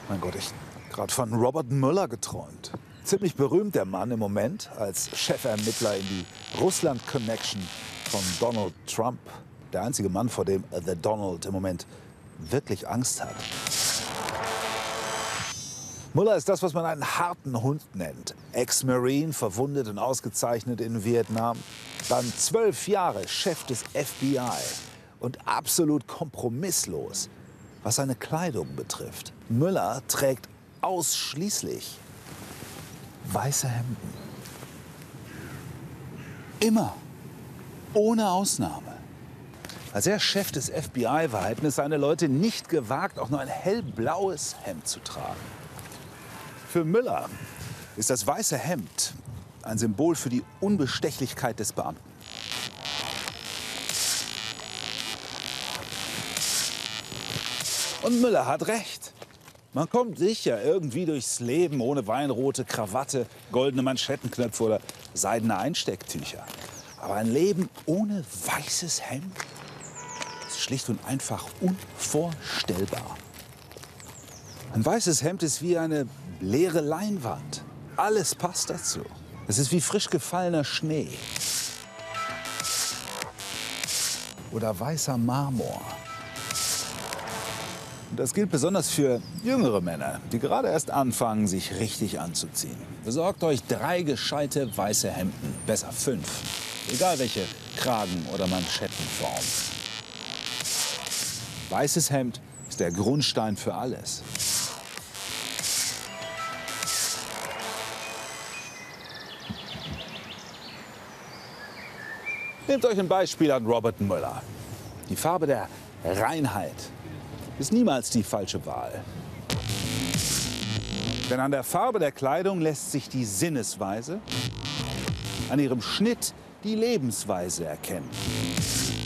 Mein Gott, ich habe gerade von Robert Mueller geträumt. Ziemlich berühmt der Mann im Moment als Chefermittler in die Russland-Connection von Donald Trump. Der einzige Mann, vor dem The Donald im Moment wirklich Angst hat. Mueller ist das, was man einen harten Hund nennt. Ex-Marine, verwundet und ausgezeichnet in Vietnam. Dann 12 Jahre Chef des FBI und absolut kompromisslos, was seine Kleidung betrifft. Mueller trägt ausschließlich weiße Hemden. Immer. Ohne Ausnahme. Als er Chef des FBI war, hätten es seine Leute nicht gewagt, auch nur ein hellblaues Hemd zu tragen. Für Mueller ist das weiße Hemd ein Symbol für die Unbestechlichkeit des Beamten. Und Mueller hat recht. Man kommt sicher irgendwie durchs Leben ohne weinrote Krawatte, goldene Manschettenknöpfe oder seidene Einstecktücher. Aber ein Leben ohne weißes Hemd ist schlicht und einfach unvorstellbar. Ein weißes Hemd ist wie eine leere Leinwand. Alles passt dazu. Es ist wie frisch gefallener Schnee. Oder weißer Marmor. Und das gilt besonders für jüngere Männer, die gerade erst anfangen, sich richtig anzuziehen. Besorgt euch 3 gescheite weiße Hemden, besser 5. Egal welche Kragen- oder Manschettenform. Weißes Hemd ist der Grundstein für alles. Nehmt euch ein Beispiel an Robert Mueller. Die Farbe der Reinheit ist niemals die falsche Wahl. Denn an der Farbe der Kleidung lässt sich die Sinnesweise, an ihrem Schnitt die Lebensweise erkennen.